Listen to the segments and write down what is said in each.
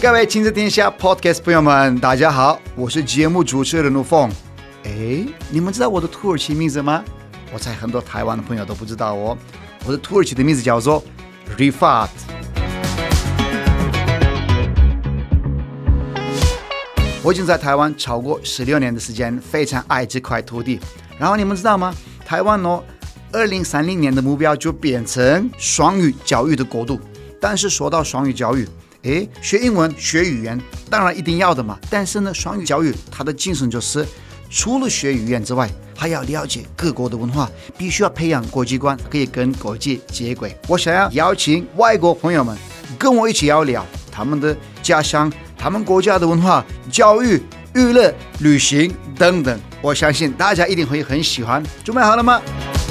各位親子天下 Podcast 朋友們，大家好，我是節目主持人盧鳳。你們知道我的土耳其名字嗎？我猜很多台灣的朋友都不知道哦。我的土耳其的名字叫做 Rifat。我已經在台灣超過16年的時間，非常愛這塊土地。然後你們知道嗎？台灣2030年的目標就變成雙語教育的國度。但是說到雙語教育，學英文學語言當然一定要的嘛。但是呢，雙語教育它的精神就是除了學語言之外，還要了解各國的文化，必須要培養國際觀，可以跟國際接軌。我想要邀請外國朋友們跟我一起聊聊他們的家鄉、他們國家的文化、教育、娛樂、旅行等等。我相信大家一定會很喜歡。準備好了嗎？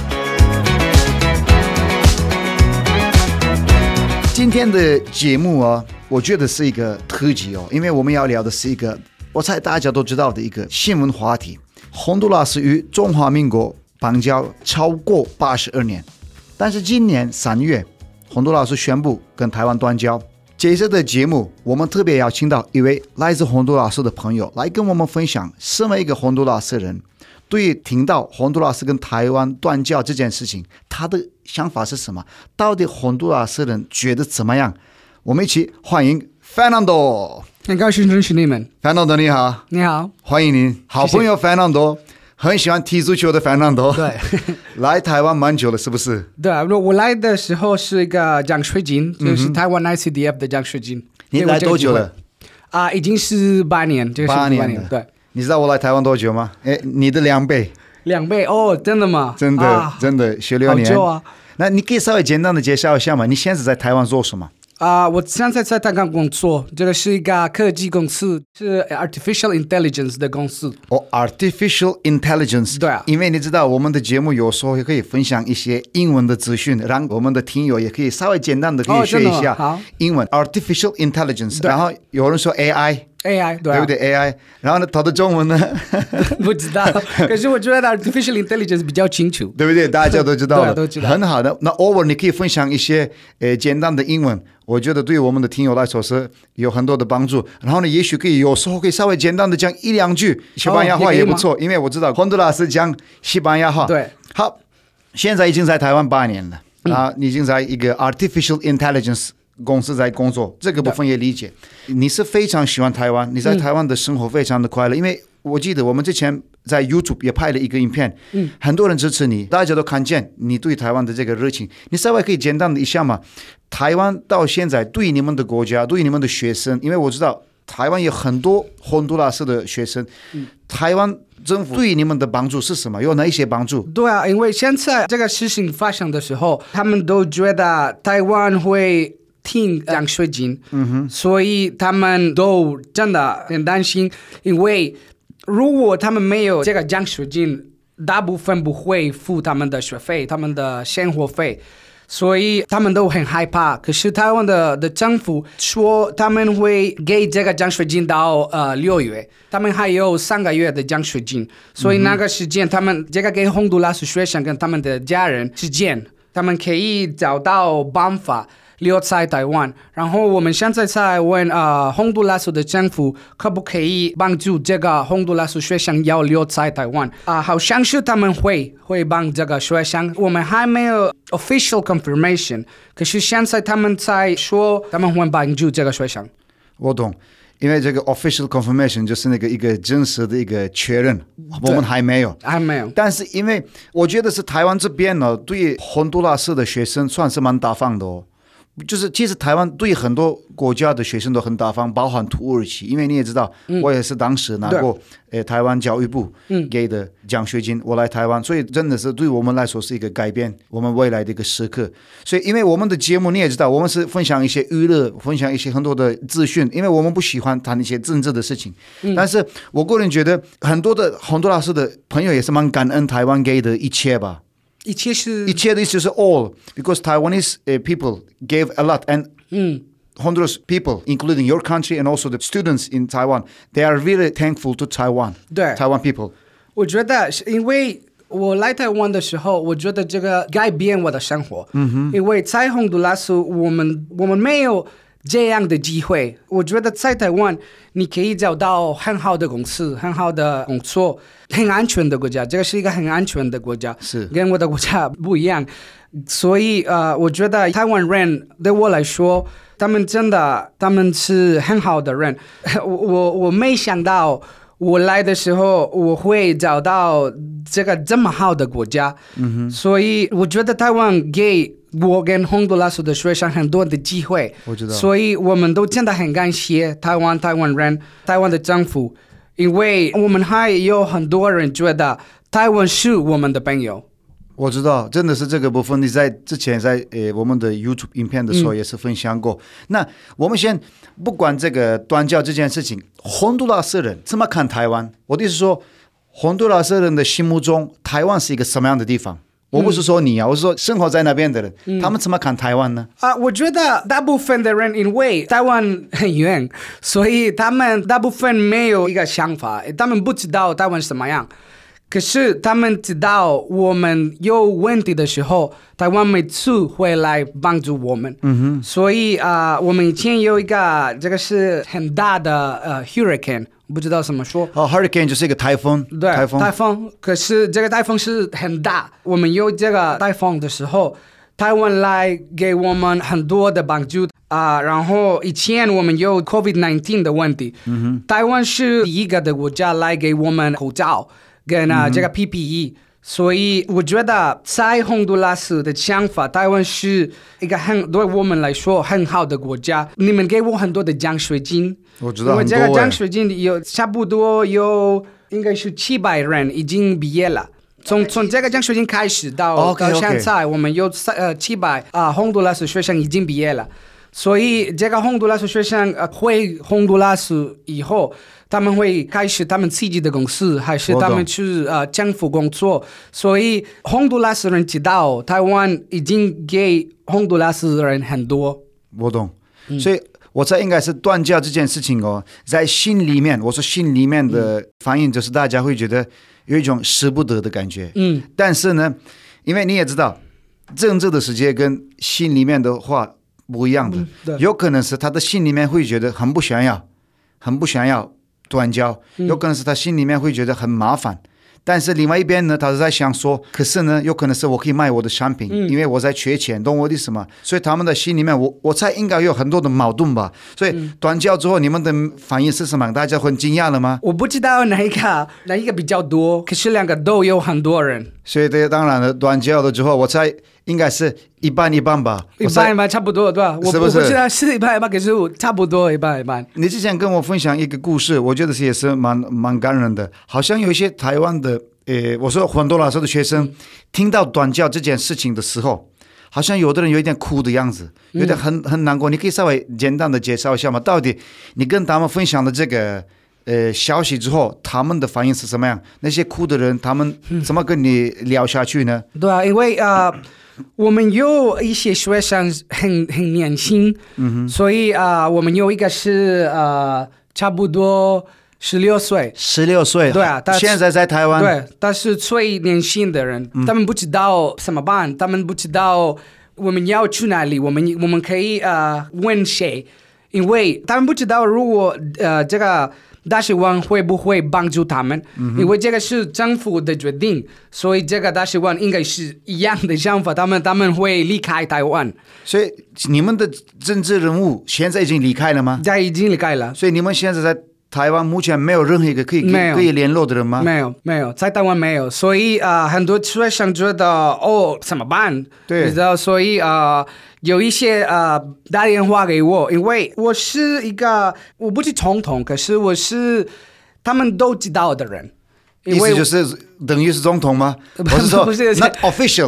今天的節目我覺得是一個特輯因為我們要聊的是一個我猜大家都知道的一個新聞話題。洪都拉斯與中華民國邦交超過82年，但是今年3月，洪都拉斯宣布跟台灣斷交。這次的節目，我們特別邀請到一位來自洪都拉斯的朋友來跟我們分享，身為一個洪都拉斯人，對於聽到洪都拉斯跟台灣斷交這件事情，他的想法是什麼？到底洪都拉斯人覺得怎麼樣？我們一起歡迎 Fernando。 很高興認識你們。 Fernando 你好。 你好， 歡迎您。好朋友 Fernando， 很喜歡踢足球的 Fernando。 對。來台灣蠻久了是不是？ 對，我來的時候是一個獎學金，就是台灣 ICDF 的獎學金。 你來多久了？ 已經是8年，這個是8年。對。你知道我來台灣多久嗎？你的2倍。 2倍哦，真的嗎？ 真的，真的16年。 好久啊。 那你可以稍微簡單的介紹一下嗎？你現在在台灣做什麼？ 我現在在台灣工作，這個是一個科技公司，是 Artificial Intelligence 的公司。 Artificial Intelligence。對啊。因為你知道我們的節目有時候也可以分享一些英文的資訊，讓我們的聽友也可以稍微簡單的可以學一下英文。Artificial Intelligence。然後有人說 AI。AI 對不對 AI， 然後呢，它的中文呢？ 不知道，可是我覺得 Artificial Intelligence 比較清楚， 對不對？大家都知道了， 都知道， 很好的。那偶爾你可以分享一些簡單的英文，我覺得對我們的聽友來說是有很多的幫助。然後呢，也許可以有時候可以稍微簡單的講1-2句西班牙話也不錯，因為我知道洪都拉斯講西班牙話。對，好，現在已經在台灣8年了你已經在一個 Artificial Intelligence公司在工作，這個部分也理解。你是非常喜歡台灣，你在台灣的生活非常的快樂，因為我記得我們之前在 YouTube 也拍了一個影片，很多人支持你，大家都看見你對台灣的這個熱情。你稍微可以簡單的一下嗎？台灣到現在對你們的國家，對你們的學生，因為我知道台灣有很多洪都拉斯的學生，台灣政府對你們的幫助是什麼？有哪一些幫助？ 對啊，因為現在這個事情發生的時候，他們都覺得台灣會聽獎學金，所以他們都真的很擔心，因為如果他們沒有這個獎學金，大部分不會付他們的學費、他們的生活費，所以他們都很害怕。可是台灣的政府說他們會給這個獎學金到6月，他們還有3個月的獎學金，所以那個時間他們這個給洪都拉斯學生跟他們的家人之間，他們可以找到辦法留在台灣。然後我們現在在問洪都拉斯的政府可不可以幫助這個洪都拉斯學生要留在台灣好像是他們會幫這個學生，我們還沒有 official confirmation， 可是現在他們在說他們會幫助這個學生。 我懂，因為這個 official confirmation 就是那個一個真實的一個確認，我們還沒有。但是因為我覺得是台灣這邊呢，對洪都拉斯的學生算是蠻大方的就是其實台灣對很多國家的學生都很大方，包含土耳其，因為你也知道，我也是當時拿過台灣教育部給的獎學金，我來台灣，所以真的是對我們來說是一個改變我們未來的一個時刻。所以因為我們的節目你也知道，我們是分享一些娛樂，分享一些很多的資訊，因為我們不喜歡談一些政治的事情。但是我個人覺得很多的洪都拉斯的朋友也是蠻感恩台灣給的一切吧。一切的意思就是 all, because Taiwanese people gave a lot, and Honduras people, including your country and also the students in Taiwan, they are really thankful to Taiwan. 对 Taiwan people. 我覺得因為我來台灣的時候，我覺得這個改變我的生活。因為在洪都拉斯，我們沒有這樣的機會。我覺得在台灣，你可以找到很好的公司、很好的工作、很安全的國家。這個是一個很安全的國家， 是跟我的國家不一樣。所以我覺得台灣人對我來說，他們是很好的人。我沒想到。我來的時候，我會找到這麼好的國家，所以我覺得台灣給我跟洪都拉斯的學生很多的機會， 我知道， 所以我們都真的很感謝台灣人、台灣的政府，因為我們還有很多人覺得台灣是我們的朋友。 我知道，真的是這個部分。你在之前在我們的 YouTube 影片的時候也是分享過。那我們先不管這個斷交這件事情，洪都拉斯人怎麼看台灣？我的意思是說，洪都拉斯人的心目中，台灣是一個什麼樣的地方？我不是說你啊，我是說生活在那邊的人，他們怎麼看台灣呢？ 我覺得大部分的人因為台灣很遠，所以他們大部分沒有一個想法，他們不知道台灣什麼樣。可是他們知道我們有問題的時候，台灣每次會來幫助我們。所以我們以前有一個這個是很大的hurricane，不知道怎麼說。 hurricane 就是一個颱風。 對，颱風。可是這個颱風是很大。我們有這個颱風的時候，台灣來給我們很多的幫助。然後以前我們有 COVID-19 的問題。台灣是第一個的國家來給我們口罩。跟這個 PPE，所以我覺得在洪都拉斯的想法，台灣是一個對我們來說很好的國家。你們給我很多的獎學金， 我知道因為這個獎學金有差不多有應該是700人已經畢業了。從這個獎學金開始到現在，我們有700洪都拉斯學生已經畢業了。所以這個洪都拉斯學生回洪都拉斯以後，他們會開始他們自己的公司，還是他們去政府工作。所以洪都拉斯人知道台灣已經給洪都拉斯人很多。 我懂，所以我猜應該是斷交這件事情哦，在心裡面，我說心裡面的反應就是大家會覺得有一種捨不得的感覺。但是呢，因為你也知道，政治的世界跟心裡面的話不一樣的，有可能是他的心裡面會覺得很不想要斷交，有可能是他心裡面會覺得很麻煩，但是另外一邊呢，他是在想說，可是呢，有可能是我可以賣我的商品，因為我在缺錢，懂我的意思嗎？所以他們的心裡面，我猜應該有很多的矛盾吧。所以斷交之後，你們的反應是什麼？大家很驚訝了嗎？ 我不知道哪一個比較多，可是兩個都有很多人。 所以這當然了，斷交了之後，我猜應該是一半一半吧。 一半一半差不多，對吧？ 是不是？ 我不知道是一半一半，可是差不多一半一半。 你之前跟我分享一個故事，我覺得也是蠻感人的。好像有一些台灣的，我說洪都拉斯的學生，聽到斷交這件事情的時候，好像有的人有一點哭的樣子，有點很難過。你可以稍微簡單的介紹一下嗎？到底你跟他們分享的這個消息之後，他們的反應是什麼樣？那些哭的人，他們怎麼跟你聊下去呢？ 對啊，因為我們有一些學生很年輕，所以我們有一個是差不多16歲 ，16歲， 對啊， 現在在台灣， 對，他是最年輕的人，他們不知道怎麼辦，他們不知道我們要去哪裡，我們可以問誰，因為他們不知道如果這個大使館會不會幫助他們？因為這個是政府的決定，所以這個大使館應該是一樣的想法，他們會離開台灣。 所以你們的政治人物現在已經離開了嗎？ 已經離開了。 所以你們現在在台灣目前沒有任何一個可以聯絡的人嗎？ 沒有，在台灣沒有。所以很多學生覺得怎麼辦？ 對， 所以有一些打電話給我，因為我是一個我不是總統，可是我是他們都知道的人。 意思就是等於是總統嗎？我是說 not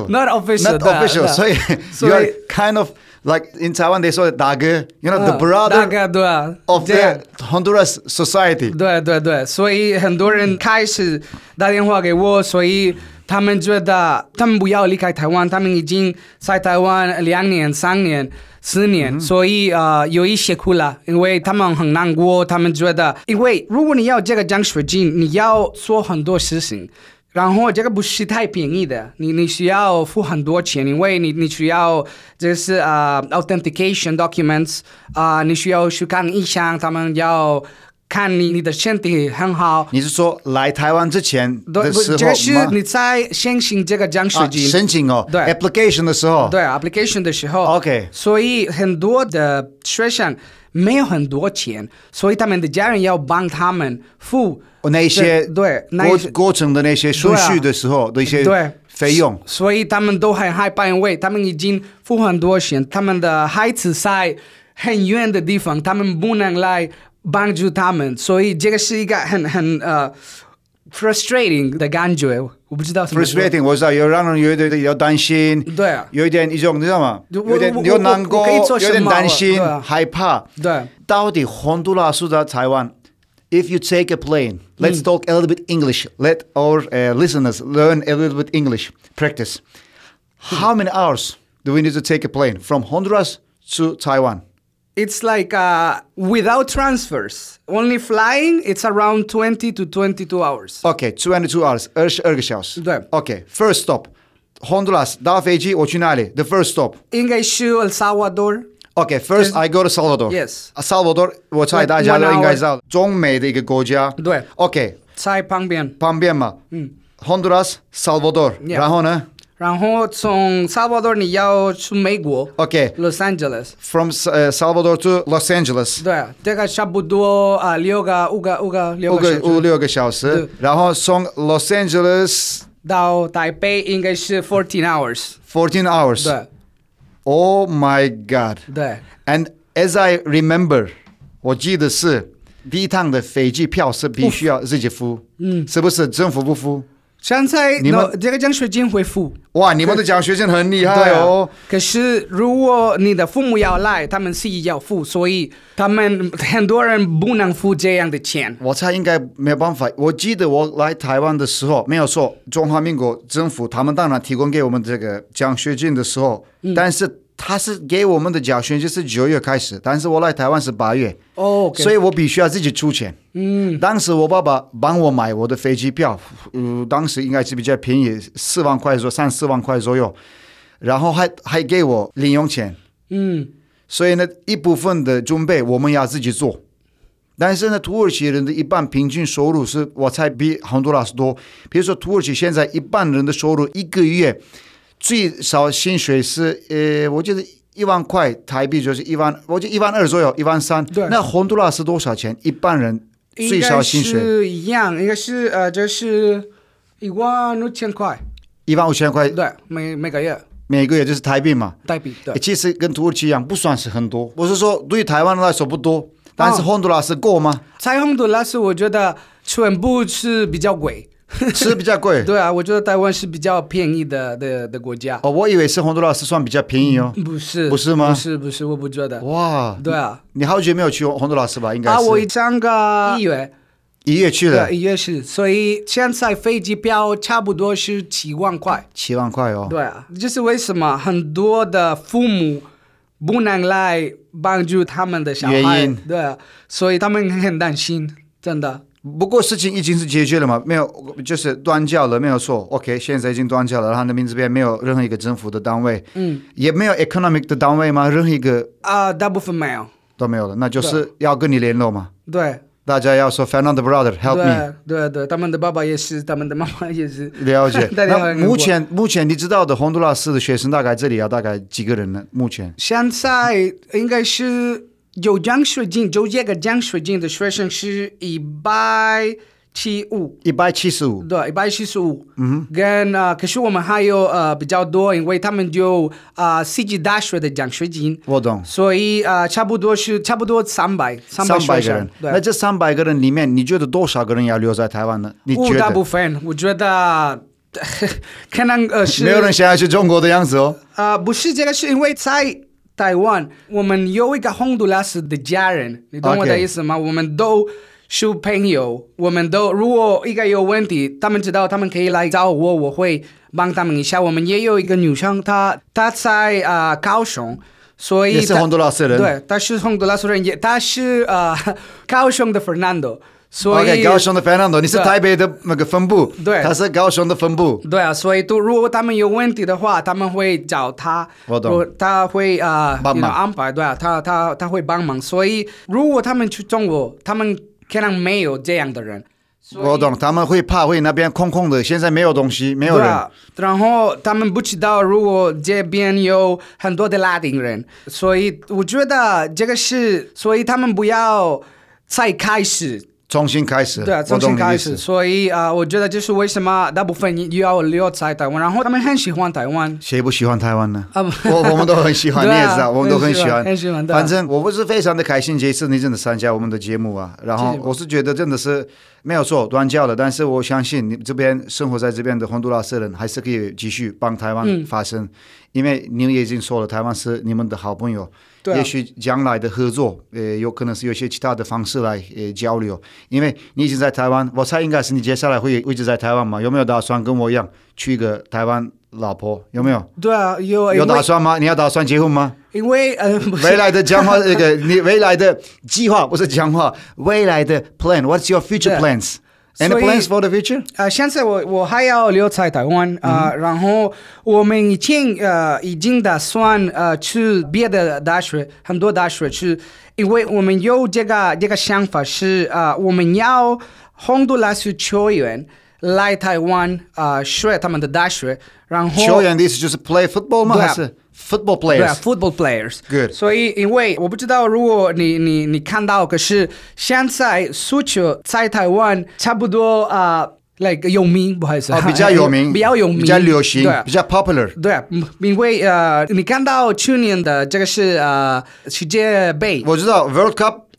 official， 所以 you're kind of like in Taiwan they call it 大哥，you know the brother of the Honduras society。 对，所以很多人開始打電話給我，所以他們覺得他們不要離開台灣，他們已經在台灣2年、3年、4年，所以有一些哭了，因為他們很難過，他們覺得，因為如果你要這個獎學金，你要做很多事情， 然後這個不是太便宜的，你需要付很多錢，因為你需要這是authentication documents 你需要去看醫生，他們要看你的身體很好。 你是說來台灣之前的時候？ 這是你在申請這個獎學金， 申請哦， 對 ，application 的時候， 對 application 的時候 ，OK， 所以很多的學生沒有很多錢，所以他們的家人要幫他們付那些對過程的那些順序的時候的一些費用， 所以他們都很害怕，因為他們已經付很多錢，他們的孩子在很遠的地方，他們不能來幫助他們，所以這個是一個很frustrating 的感覺，我不知道什麼。 frustrating 我知道，有讓人有點擔心， 對啊， 有一點一種你知道嗎？有點難過，有點擔心，害怕。 對， 到底洪都拉斯到台灣 ，if you take a plane, let's talk a little bit English. Let our listeners learn a little bit English. Practice. How many hours do we need to take a plane from Honduras to Taiwan? It's like without transfers, only flying, it's around 20 to 22 hours. Okay, 22 hours, 22个小时。 对。 Okay, first stop, Honduras 搭飞机我去哪里 ？The first stop 应該是 El Salvador. Okay, first I go to Salvador. Yes. Salvador 我猜大家都應該知道，中美的一個國家。 對。 Okay. 在旁邊。 旁邊嘛。Honduras, Salvador. 然後呢？ 然後從 Salvador 你要去美國 ，OK， Los Angeles。 From Salvador to Los Angeles。 對，這個差不多5個小時。然後從 Los Angeles 到台北應該是14 hours。 14 hours。 對。 Oh my God。 對。 And as I remember，我記得是第一趟的飛機票是必須要自己付，是不是政府不付？ 現在你們這個獎學金會付。 哇，你們的獎學金很厲害哦。 可是如果你的父母要來，他們是要付，所以他們很多人不能付這樣的錢。 我猜應該沒有辦法。我記得我來台灣的時候，沒有錯，中華民國政府他們當然提供給我們這個獎學金的時候，但是他是給我們的獎學金是9月開始，但是我來台灣是8月，所以我必須要自己出錢。當時我爸爸幫我買我的飛機票，當時應該是比較便宜，4萬塊左右，3、4萬塊左右，然後還給我零用錢。所以呢，一部分的準備我們要自己做。但是呢，土耳其人的一般平均收入是我猜比洪都拉斯多。比如說土耳其現在一般人的收入一個月最少薪水是我覺得1萬塊台幣就是我覺得1萬2左右，1萬3。那洪都拉斯多少錢？一般人最少薪水應該是一樣，應該是就是15000塊。 15000塊， 對，每個月。 每個月就是台幣嘛。 台幣，對。 其實跟土耳其一樣，不算是很多。我是說，對於台灣來說不多，但是洪都拉斯夠嗎？ 在洪都拉斯，我覺得全部是比較貴。 是比較貴。 對啊，我覺得台灣是比較便宜的國家。 我以為是洪都拉斯算比較便宜哦。 不是。 不是嗎？ 不是，我不覺得。 哇。 對啊。 你好久沒有去洪都拉斯吧？應該是。 我上個1月。 1月去的。 對，1月是，所以現在飛機票差不多是7萬塊。 7萬塊哦。 對啊，就是為什麼很多的父母不能來幫助他們的小孩。原因。對啊，所以他們很擔心，真的。 不過事情已經是解決了嘛？沒有，就是斷交了，沒有錯。OK， 現在已經斷交了，然後那邊這邊沒有任何一個政府的單位，也沒有 economic 的單位嗎？任何一個大部分沒有， 都沒有了，那就是要跟你聯絡嘛。 對， 大家要說 Fernando brother help me。 對，他們的爸爸也是，他們的媽媽也是。 了解。那目前你知道的洪都拉斯的學生大概這裡要大概幾個人呢？目前現在應該是。有獎學金，就這個獎學金的學生是175。 175。 對，175。可是我們還有比較多，因為他們有CG大學的獎學金。 我懂。 所以差不多300個人。 那這300個人裡面，你覺得多少個人要留在台灣呢？你覺得？ 大部分，我覺得可能是。 沒有人想要去中國的樣子哦。 不是，這個是因為在台灣，我們有一個洪都拉斯的家人，你懂我的意思嗎？我們都是朋友，我們都如果一個有問題，他們知道他們可以來找我，我會幫他們一下。我們也有一個女生，她在高雄，所以也是洪都拉斯人。 對，她是洪都拉斯人，她是高雄的 Fernando， 所以 OK， 高雄的 Fernando， 你是台北的那個分部， 對， 他是高雄的分部， 對啊，所以如果他們有問題的話，他們會找他， 我懂， 他會幫忙安排，對啊，他會幫忙，所以如果他們去中國，他們可能沒有這樣的人。 我懂，他們會怕會那邊空空的，現在沒有東西，沒有人。對啊， 然後他們不知道如果這邊有很多的拉丁人，所以我覺得這個是，所以他們不要再開始。 重新開始， 對啊，重新開始，所以我覺得就是為什麼大部分要留在台灣，然後他們很喜歡台灣。 誰不喜歡台灣呢？我們都很喜歡，你也知道，我們都很喜歡。 很喜歡。 反正我不是非常的開心，這次你真的參加我們的節目啊，然後我是覺得真的是沒有錯，斷交了，但是我相信你這邊生活在這邊的洪都拉斯人還是可以繼續幫台灣發聲，因為你已經說了，台灣是你們的好朋友。也許將來的合作，有可能是有些其他的方式來交流。因為你已經在台灣，我猜應該是你接下來會一直在台灣嘛？有沒有打算跟我一樣娶一個台灣老婆？有沒有？ 對啊，有打算嗎？你要打算結婚嗎？ 因為未來的講話，你未來的計劃不是講話，未來的 plan。What's your future plans？Any plans for the future？ 現在我還要留在台灣然後我們已經打算去別的大學，很多大學去，因為我們有這個想法是我們要洪都拉斯球員來台灣學他們的大學，然後球員的意思就是 play football 嗎？還是 football players？ 對，football players。Good。所以因為我不知道，如果你看到，可是現在足球在台灣差不多like 有名，不好意思， 比較有名， 比較有名， 比較流行，比較 popular。 對，因為你看到去年的這個是世界盃， 我知道 World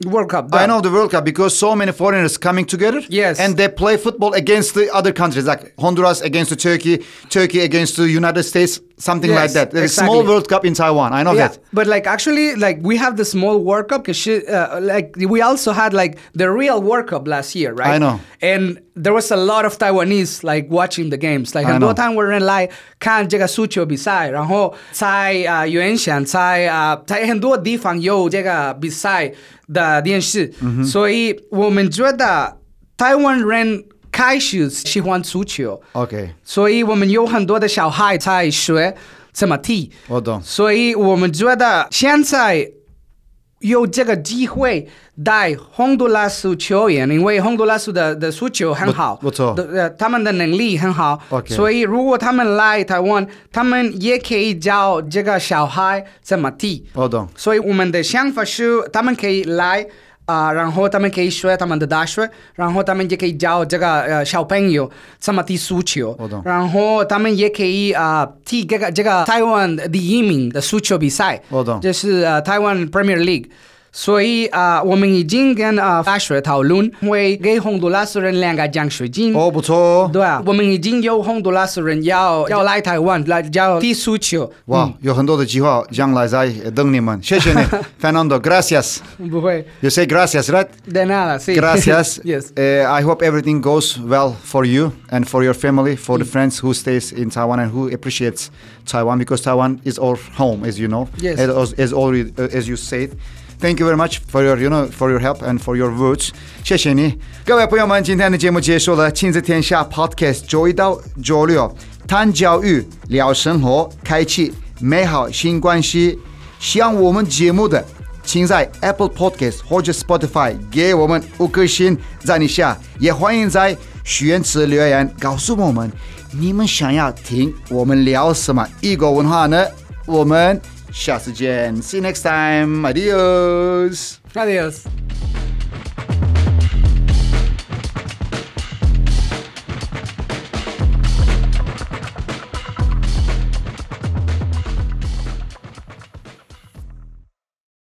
Cup。I know the World Cup because so many foreigners coming together. Yes. And they play football against the other countries, like Honduras against Turkey, Turkey against the United States, something like that. There's a small World Cup in Taiwan. I know that. But like actually, like we have the small World Cup, like we also had like the real World Cup last year, right? I know. And there was a lot of Taiwanese like watching the games. Like 很多台灣人來看這個足球比賽，然後在原先在很多地方有這個比賽的電視，所以我們覺得台灣人開始喜歡足球。 OK， 所以我們有很多的小孩在學怎麼踢。 我懂。 所以我們覺得現在有這個機會帶洪都拉斯球員，因為洪都拉斯的足球很好， 不錯， 他們的能力很好。 Okay. 所以如果他們來台灣，他們也可以教這個小孩怎麼踢。 我懂。 所以我們的想法是，他們可以來然後他們可以學他們的大學，然後他們也可以教這個小朋友怎麼踢足球。然後他們也可以踢這個台灣第一名的足球比賽。就是台灣 Premier League。所以我們已經跟大學討論，會給洪都拉斯人2個獎學金。 不錯。 對啊，我們已經有洪都拉斯人要來台灣來教踢足球。 哇，有很多的計劃將來在等你們。謝謝你，Fernando. Gracias. 不會。 You say gracias, right? De nada, sí. Gracias. Yes. I hope everything goes well for you and for your family, for the friends who stays in Taiwan and who appreciates Taiwan, because Taiwan is our home, as you know. Yes. As you said. Thank you very much for your help and for your words. 謝謝你，各位朋友們，今天的節目結束了。親子天下 Podcast 周一到周六談教育、聊生活，開啟美好新關係。喜歡我們節目的，請在 Apple Podcast 或者 Spotify 給我們5顆星讚一下。也歡迎在許願池留言告訴我們，你們想要聽我們聊什麼異國文化呢？我們下次見 ，See you next time. Adios. Adios.